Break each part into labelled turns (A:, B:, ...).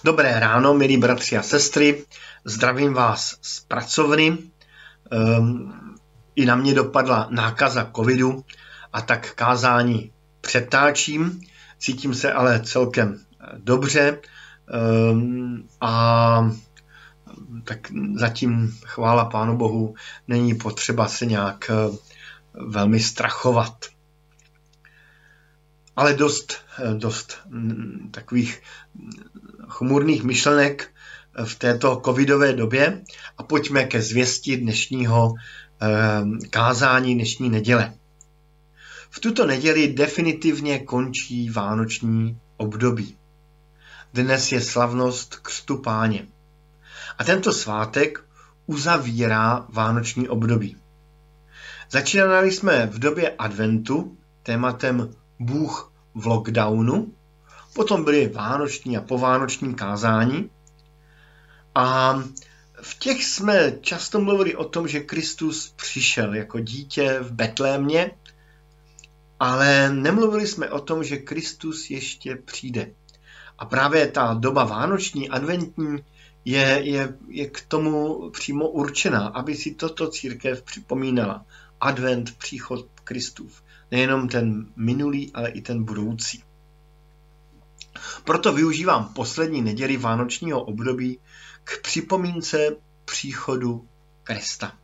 A: Dobré ráno, milí bratři a sestry, zdravím vás z pracovny. I na mě dopadla nákaza covidu a tak kázání přetáčím. Cítím se ale celkem dobře a tak zatím, chvála Pánu Bohu, není potřeba se nějak velmi strachovat. Ale dost takových chmurných myšlenek v této covidové době a pojďme ke zvěsti dnešního kázání dnešní neděle. V tuto neděli definitivně končí vánoční období. Dnes je slavnost Křtu Páně. A tento svátek uzavírá vánoční období. Začínali jsme v době adventu tématem Bůh v lockdownu, potom byly vánoční a povánoční kázání a v těch jsme často mluvili o tom, že Kristus přišel jako dítě v Betlémě, ale nemluvili jsme o tom, že Kristus ještě přijde. A právě ta doba vánoční, adventní je k tomu přímo určená, aby si toto církev připomínala. Advent, příchod Kristův. Nejenom ten minulý, ale i ten budoucí. Proto využívám poslední neděli vánočního období k připomínce příchodu Krista.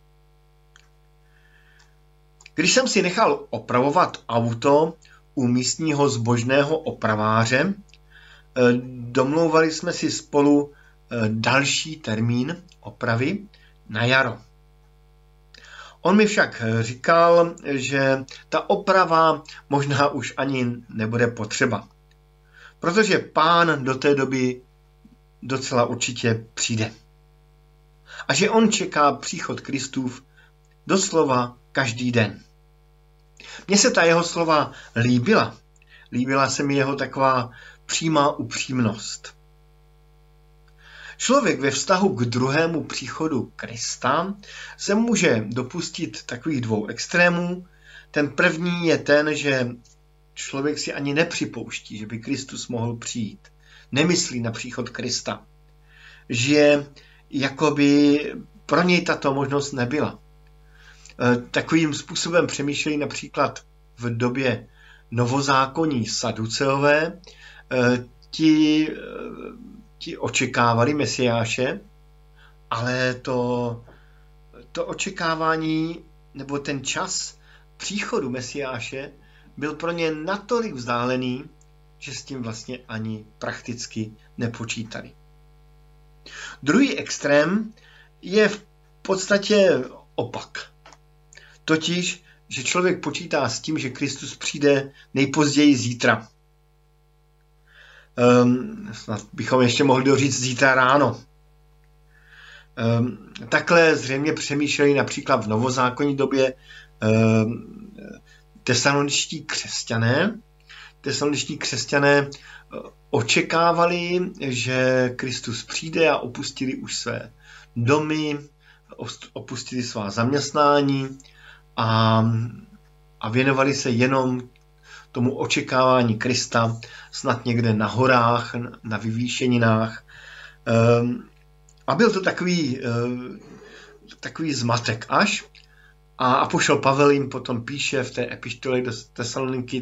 A: Když jsem si nechal opravovat auto u místního zbožného opraváře, domlouvali jsme si spolu další termín opravy na jaro. On mi však říkal, že ta oprava možná už ani nebude potřeba, protože Pán do té doby docela určitě přijde. A že on čeká příchod Kristův doslova každý den. Mně se ta jeho slova líbila. Líbila se mi jeho taková přímá upřímnost. Člověk ve vztahu k druhému příchodu Krista se může dopustit takových dvou extrémů. Ten první je ten, že člověk si ani nepřipouští, že by Kristus mohl přijít. Nemyslí na příchod Krista. Že jakoby pro něj tato možnost nebyla. Takovým způsobem přemýšlejí například v době novozákonní saduceové. Ti očekávali Mesiáše, ale to očekávání nebo ten čas příchodu Mesiáše byl pro ně natolik vzdálený, že s tím vlastně ani prakticky nepočítali. Druhý extrém je v podstatě opak. Totiž, že člověk počítá s tím, že Kristus přijde nejpozději zítra. Snad bychom ještě mohli doříct zítra ráno. Takhle zřejmě přemýšleli například v novozákonní době tesaloničtí křesťané. Tesaloničtí křesťané očekávali, že Kristus přijde a opustili už své domy, opustili svá zaměstnání a věnovali se jenom tomu očekávání Krista, snad někde na horách, na vyvýšeninách. A byl to takový zmatek až. A apoštol Pavel jim potom píše v té epištole do Tesaloniky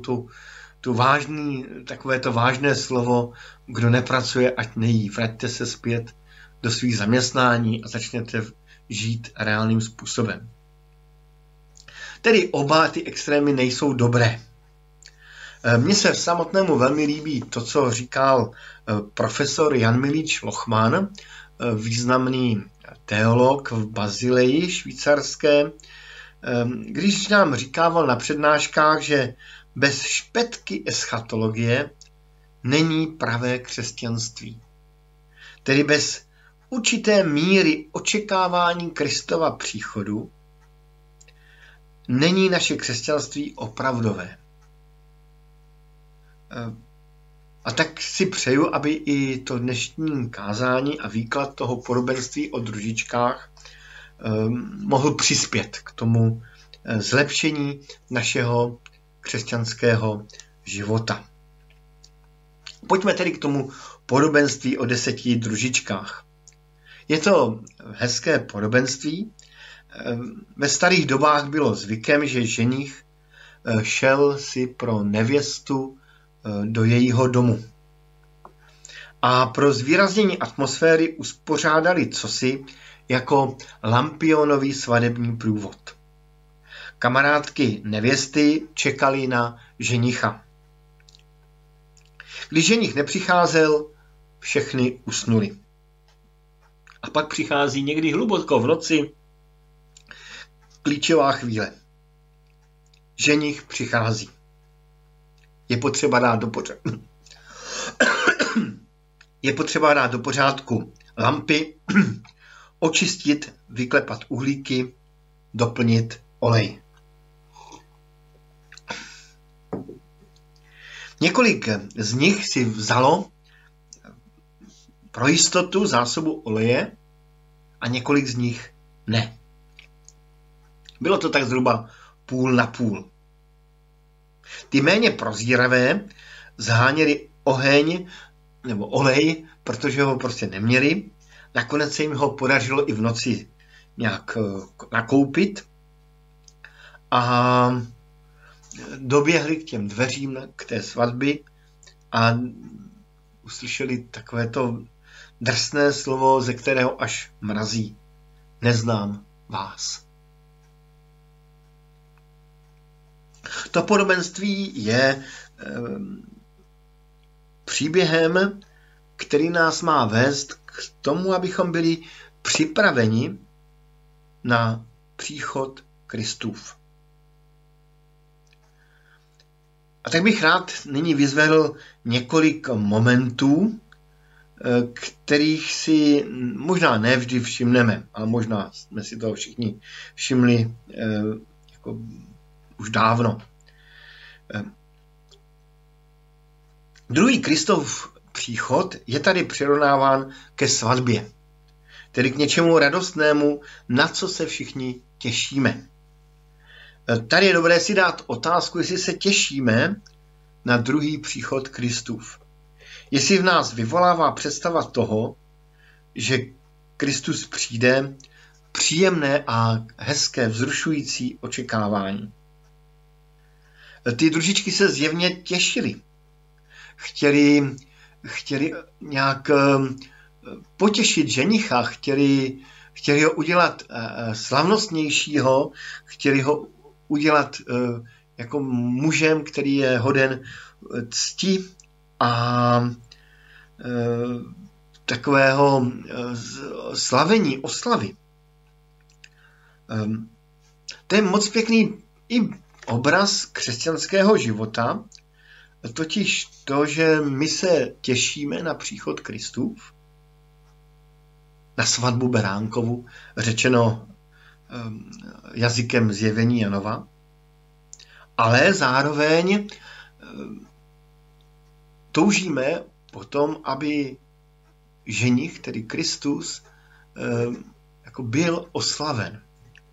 A: takové to vážné slovo, kdo nepracuje, ať nejí. Vraťte se zpět do svých zaměstnání a začněte žít reálným způsobem. Tedy oba ty extrémy nejsou dobré. Mně se samotnému velmi líbí to, co říkal profesor Jan Milič Lochman, významný teolog v Bazileji švýcarské, když nám říkával na přednáškách, že bez špetky eschatologie není pravé křesťanství. Tedy bez určité míry očekávání Kristova příchodu není naše křesťanství opravdové. A tak si přeju, aby i to dnešní kázání a výklad toho podobenství o družičkách mohl přispět k tomu zlepšení našeho křesťanského života. Pojďme tedy k tomu podobenství o 10 družičkách. Je to hezké podobenství. Ve starých dobách bylo zvykem, že ženich šel si pro nevěstu do jejího domu. A pro zvýraznění atmosféry uspořádali cosi jako lampionový svadební průvod. Kamarádky nevěsty čekali na ženicha. Když ženich nepřicházel, všechny usnuli. A pak přichází někdy hluboko v noci klíčová chvíle. Ženich přichází. Je potřeba dát do pořádku lampy, očistit, vyklepat uhlíky, doplnit olej. Několik z nich si vzalo pro jistotu zásobu oleje a několik z nich ne. Bylo to tak zhruba půl na půl. Ty méně prozíravé zháněli oheň nebo olej, protože ho prostě neměli. Nakonec se jim ho podařilo i v noci nějak nakoupit a doběhli k těm dveřím k té svatbě a uslyšeli takovéto drsné slovo, ze kterého až mrazí. Neznám vás. To podobenství je příběhem, který nás má vést k tomu, abychom byli připraveni na příchod Kristův. A tak bych rád nyní vyzvedl několik momentů, kterých si možná ne vždy všimneme, ale možná jsme si toho všichni všimli jako už dávno. Druhý Kristův příchod je tady přirovnáván ke svatbě, tedy k něčemu radostnému, na co se všichni těšíme. Tady je dobré si dát otázku, jestli se těšíme na druhý příchod Kristův. Jestli v nás vyvolává představa toho, že Kristus přijde, příjemné a hezké, vzrušující očekávání. Ty družičky se zjevně těšily. Chtěli nějak potěšit ženicha, chtěli ho udělat slavnostnějšího, chtěli ho udělat jako mužem, který je hoden cti a takového slavení, oslavy. To je moc pěkný i obraz křesťanského života, totiž to, že my se těšíme na příchod Kristův, na svatbu Beránkovu, řečeno jazykem zjevení Janova, ale zároveň toužíme potom, aby ženich, tedy Kristus, jako byl oslaven.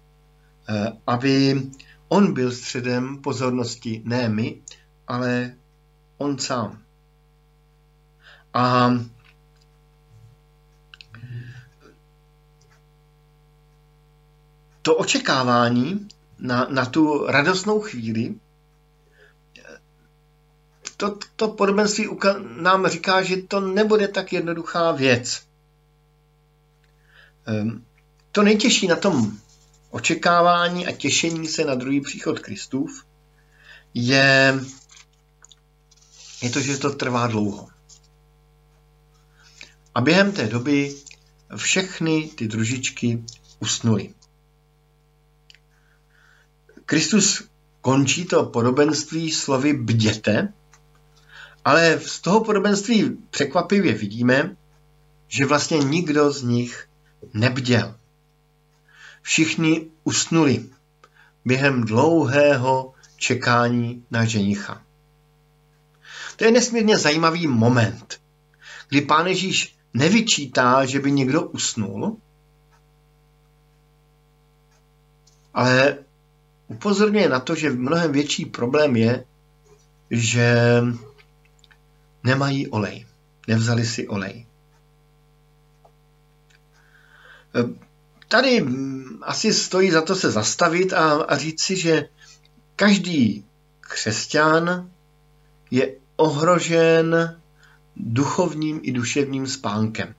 A: Aby on byl středem pozornosti, ne my, ale on sám. A to očekávání na tu radostnou chvíli, to podobenství nám říká, že to nebude tak jednoduchá věc. To nejtěžší na tom očekávání a těšení se na druhý příchod Kristův je to, že to trvá dlouho. A během té doby všechny ty družičky usnuly. Kristus končí to podobenství slovy bděte, ale z toho podobenství překvapivě vidíme, že vlastně nikdo z nich nebděl. Všichni usnuli během dlouhého čekání na ženicha. To je nesmírně zajímavý moment, kdy Pán Ježíš nevyčítá, že by někdo usnul, ale upozorňuje na to, že mnohem větší problém je, že nemají olej. Nevzali si olej. Tady asi stojí za to se zastavit a říct si, že každý křesťan je ohrožen duchovním i duševním spánkem.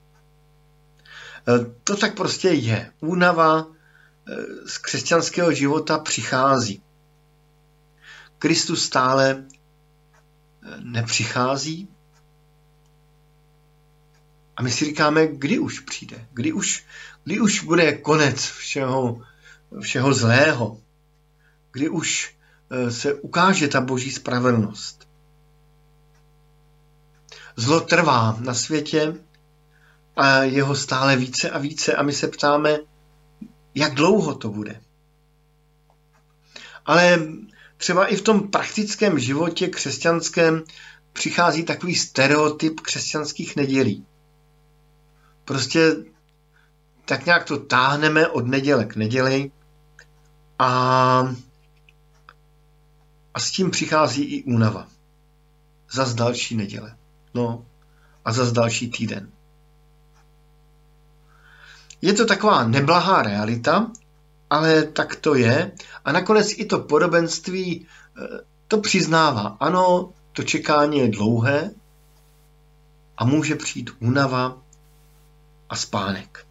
A: To tak prostě je. Únava z křesťanského života přichází. Kristus stále nepřichází. A my si říkáme, kdy už přijde, kdy už bude konec všeho zlého, kdy už se ukáže ta boží spravedlnost. Zlo trvá na světě a jeho stále více a více a my se ptáme, jak dlouho to bude. Ale třeba i v tom praktickém životě křesťanském přichází takový stereotyp křesťanských nedělí. Prostě tak nějak to táhneme od neděle k neděli a s tím přichází i únava. Zas další neděle. No a zas další týden. Je to taková neblahá realita, ale tak to je. A nakonec i to podobenství to přiznává. Ano, to čekání je dlouhé a může přijít únava a spánek.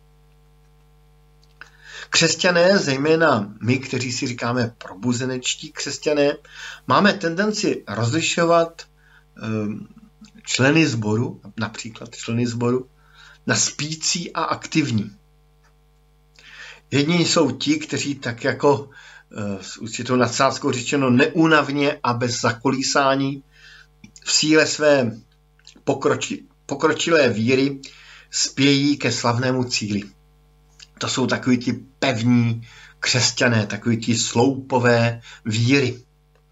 A: Křesťané, zejména my, kteří si říkáme probuzenečtí křesťané, máme tendenci rozlišovat členy sboru, například členy sboru, na spící a aktivní. Jedni jsou ti, kteří tak jako s určitou nadsázkou řečeno neúnavně a bez zakolísání v síle své pokročilé víry spějí ke slavnému cíli. To jsou takoví ti pevní křesťané, takoví ti sloupové víry,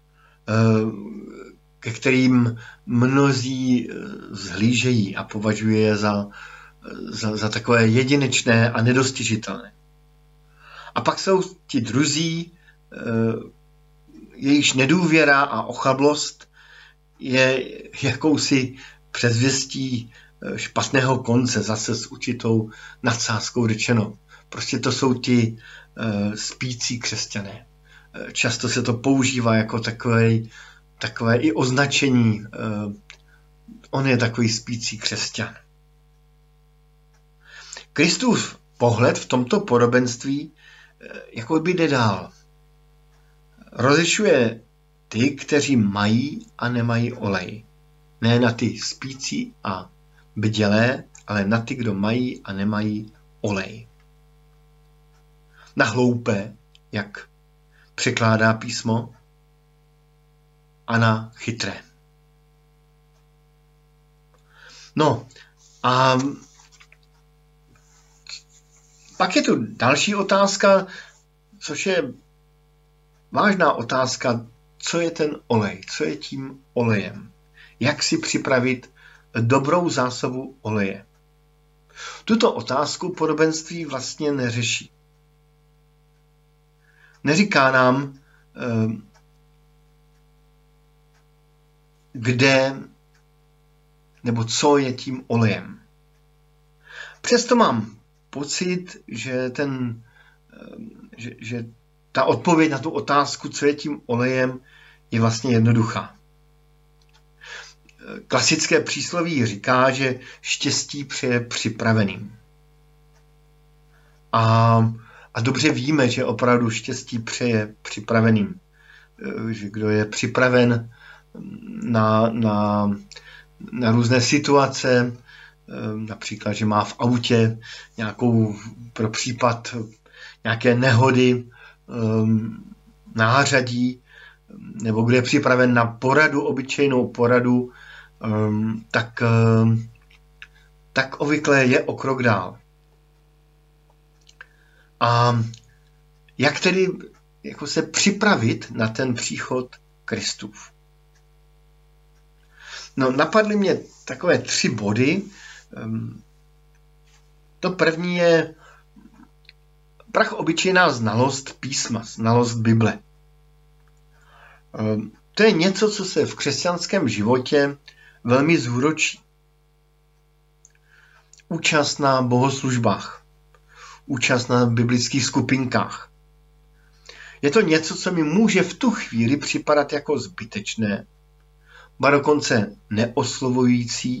A: ke kterým mnozí vzhlížejí a považují je za takové jedinečné a nedostižitelné. A pak jsou ti druzí, jejichž nedůvěra a ochablost je jakousi předzvěstí špatného konce, zase s určitou nadsázkou řečeno. Prostě to jsou ti spící křesťané. Často se to používá jako takové i označení. On je takový spící křesťan. Kristův pohled v tomto podobenství jako by jde dál. Rozlišuje ty, kteří mají a nemají olej. Ne na ty spící a bdělé, ale na ty, kdo mají a nemají olej. Na hloupé, jak překládá písmo, a na chytré. No a pak je tu další otázka, což je vážná otázka, co je ten olej, co je tím olejem. Jak si připravit dobrou zásobu oleje. Tuto otázku podobenství vlastně neřeší. Neříká nám, kde nebo co je tím olejem. Přesto mám pocit, že ta odpověď na tu otázku, co je tím olejem, je vlastně jednoduchá. Klasické přísloví říká, že štěstí přeje připraveným. A dobře víme, že opravdu štěstí přeje připraveným. Že kdo je připraven na různé situace, například, že má v autě nějakou pro případ nějaké nehody, nářadí, nebo kdo je připraven na poradu, obyčejnou poradu, tak obvykle je o krok dál. A jak tedy jako se připravit na ten příchod Kristův? No, napadly mě takové 3 body. To první je obyčejná znalost písma, znalost Bible. To je něco, co se v křesťanském životě velmi zúročí. Účast na bohoslužbách, účast na biblických skupinkách. Je to něco, co mi může v tu chvíli připadat jako zbytečné, ba dokonce neoslovující,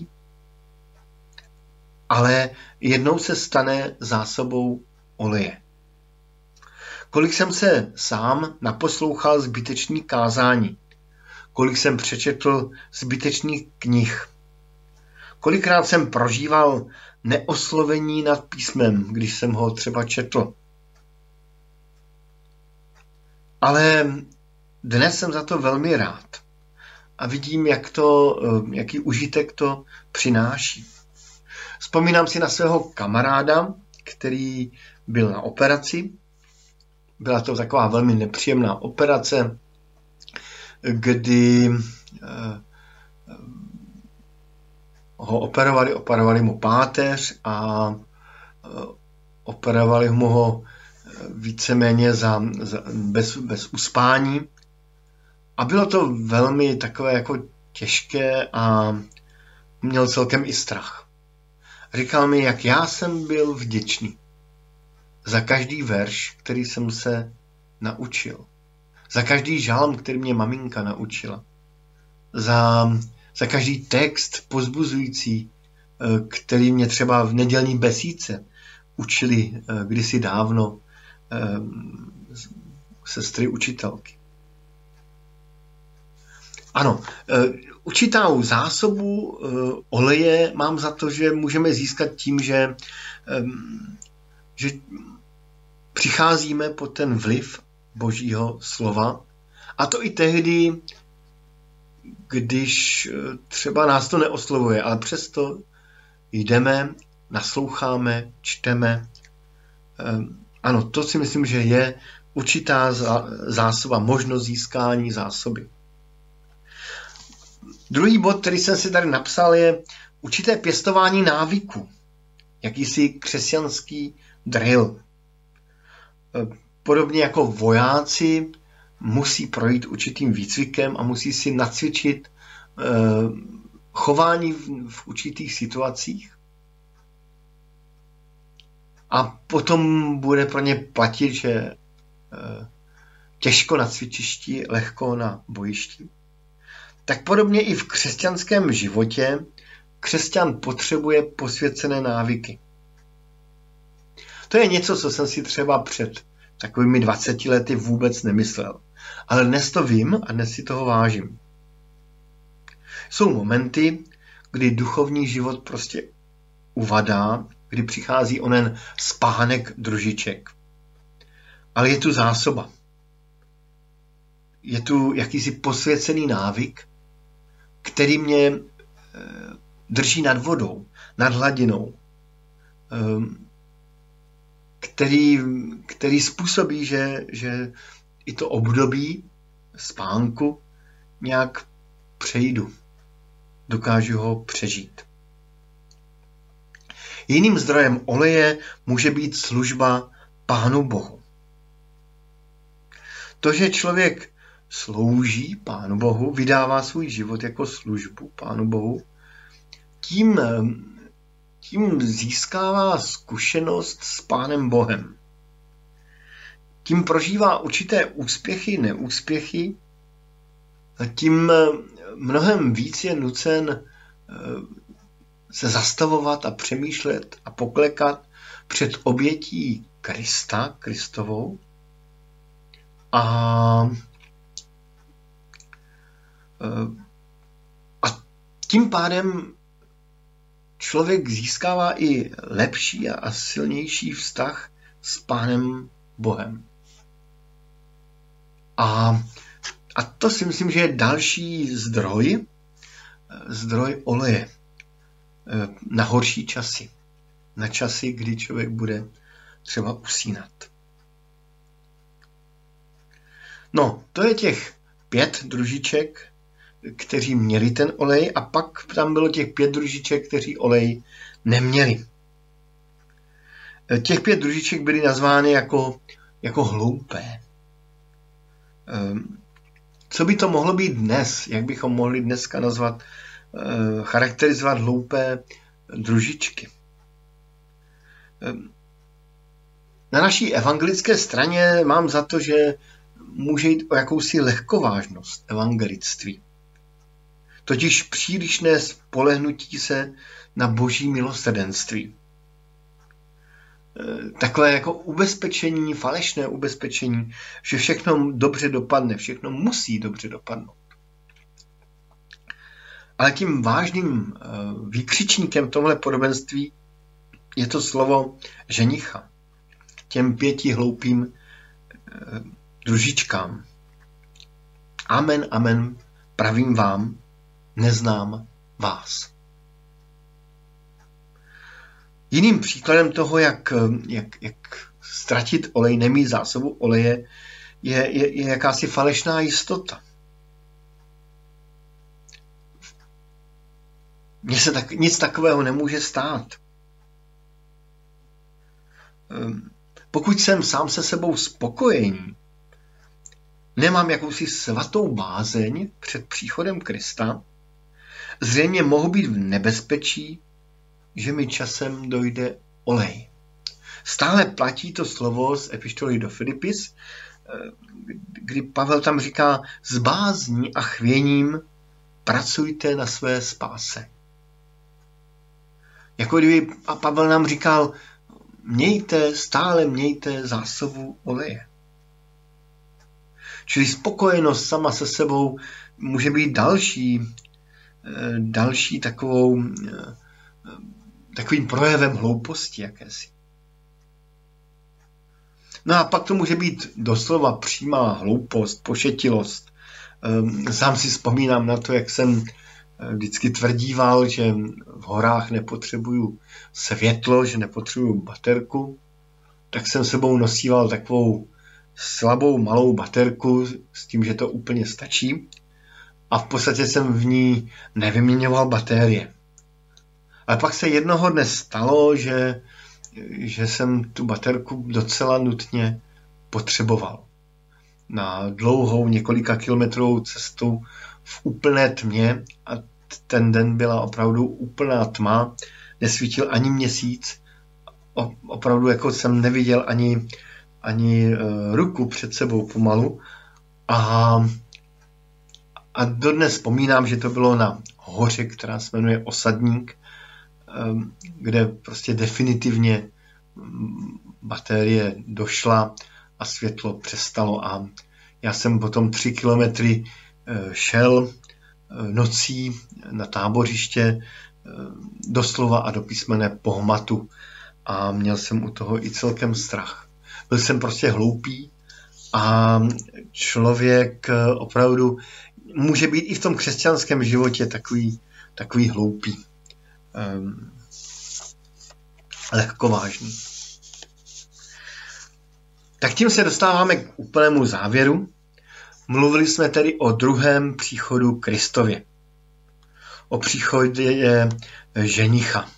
A: ale jednou se stane zásobou oleje. Kolik jsem se sám naposlouchal zbytečných kázání, kolik jsem přečetl zbytečných knih, kolikrát jsem prožíval neoslovení nad písmem, když jsem ho třeba četl. Ale dnes jsem za to velmi rád a vidím, jaký užitek to přináší. Vzpomínám si na svého kamaráda, který byl na operaci. Byla to taková velmi nepříjemná operace, kdy ho operovali mu páteř a operovali mu ho víceméně bez uspání. A bylo to velmi takové jako těžké a měl celkem i strach. Říkal mi, jak já jsem byl vděčný za každý verš, který jsem se naučil. Za každý žalm, který mě maminka naučila. Za každý text povzbuzující, který mě třeba v nedělní besídce učili kdysi dávno sestry učitelky. Ano, určitou zásobu oleje mám za to, že můžeme získat tím, že přicházíme pod ten vliv Božího slova. A to i tehdy, když třeba nás to neoslovuje, ale přesto jdeme, nasloucháme, čteme. Ano, to si myslím, že je určitá zásoba, možnost získání zásoby. Druhý bod, který jsem si tady napsal, je určité pěstování návyku. Jakýsi křesťanský drill. Podobně jako vojáci musí projít určitým výcvikem a musí si nacvičit chování v určitých situacích. A potom bude pro ně platit, že těžko na cvičišti, lehko na bojišti. Tak podobně i v křesťanském životě křesťan potřebuje posvěcené návyky. To je něco, co jsem si třeba před takovými 20 lety vůbec nemyslel. Ale dnes to vím a dnes si toho vážím. Jsou momenty, kdy duchovní život prostě uvadá, kdy přichází onen spánek družiček. Ale je tu zásoba. Je tu jakýsi posvěcený návyk, který mě drží nad vodou, nad hladinou, který způsobí, že i to období spánku nějak přejdu. Dokážu ho přežít. Jiným zdrojem oleje může být služba Pánu Bohu. To, že člověk slouží Pánu Bohu, vydává svůj život jako službu Pánu Bohu, tím získává zkušenost s Pánem Bohem. Tím prožívá určité úspěchy, neúspěchy, a tím mnohem víc je nucen se zastavovat a přemýšlet a poklekat před obětí Krista, Kristovou. A tím pádem člověk získává i lepší a silnější vztah s Pánem Bohem. A to si myslím, že je další zdroj oleje na horší časy. Na časy, kdy člověk bude třeba usínat. No, to je těch 5 družiček, kteří měli ten olej, a pak tam bylo těch 5 družiček, kteří olej neměli. Těch 5 družiček byly nazvány jako hloupé. Co by to mohlo být dnes? Jak bychom mohli dneska nazvat charakterizovat hloupé družičky. Na naší evangelické straně mám za to, že může jít o jakousi lehkovážnost evangelictví. Totiž přílišné spolehnutí se na boží milosrdenství. Takové jako ubezpečení, falešné ubezpečení, že všechno dobře dopadne, všechno musí dobře dopadnout. Ale tím vážným výkřičníkem tohle podobenství je to slovo ženicha. Těm 5 hloupým družičkám. Amen, amen, pravím vám, neznám vás. Jiným příkladem toho, jak ztratit olej, nemít zásobu oleje, je jakási falešná jistota. Mně se nic takového nemůže stát. Pokud jsem sám se sebou spokojený, nemám jakousi svatou bázeň před příchodem Krista, zřejmě mohu být v nebezpečí, že mi časem dojde olej. Stále platí to slovo z epištoly do Filipis, kdy Pavel tam říká, s bázní a chvěním pracujte na své spáse. Jako kdyby Pavel nám říkal, stále mějte zásobu oleje. Čili spokojenost sama se sebou může být další takovým projevem hlouposti jakési. No a pak to může být doslova přímá hloupost, pošetilost. Sám si vzpomínám na to, jak jsem vždycky tvrdíval, že v horách nepotřebuju světlo, že nepotřebuju baterku, tak jsem sebou nosíval takovou slabou malou baterku s tím, že to úplně stačí a v podstatě jsem v ní nevyměňoval baterie. Ale pak se jednoho dne stalo, že jsem tu baterku docela nutně potřeboval. Na dlouhou několika kilometrovou cestu v úplné tmě a ten den byla opravdu úplná tma, nesvítil ani měsíc, opravdu jako jsem neviděl ani ruku před sebou pomalu a dodnes vzpomínám, že to bylo na hoře, která se jmenuje Osadník, kde prostě definitivně baterie došla a světlo přestalo a já jsem potom 3 kilometry šel nocí na tábořiště doslova a do písmene po hmatu a měl jsem u toho i celkem strach. Byl jsem prostě hloupý a člověk opravdu může být i v tom křesťanském životě takový hloupý. Lehkovážný. Tak tím se dostáváme k úplnému závěru. Mluvili jsme tedy o druhém příchodu Kristově. O příchodě ženicha.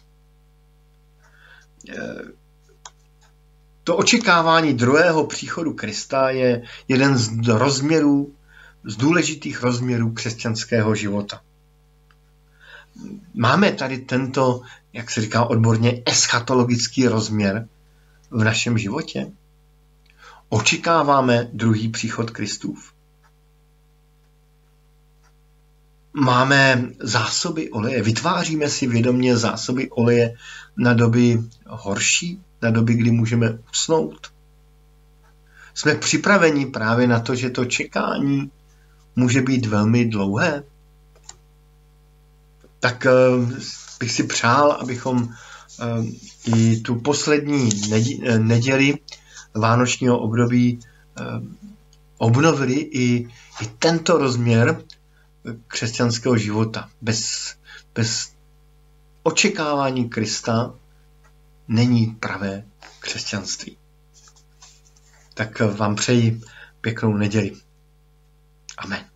A: To očekávání druhého příchodu Krista je jeden z důležitých rozměrů křesťanského života. Máme tady tento, jak se říká odborně, eschatologický rozměr v našem životě? Očekáváme druhý příchod Kristův? Máme zásoby oleje? Vytváříme si vědomě zásoby oleje na doby horší? Na doby, kdy můžeme usnout? Jsme připraveni právě na to, že to čekání může být velmi dlouhé? Tak bych si přál, abychom i tu poslední neděli vánočního období obnovili i tento rozměr křesťanského života. Bez očekávání Krista není pravé křesťanství. Tak vám přeji pěknou neděli. Amen.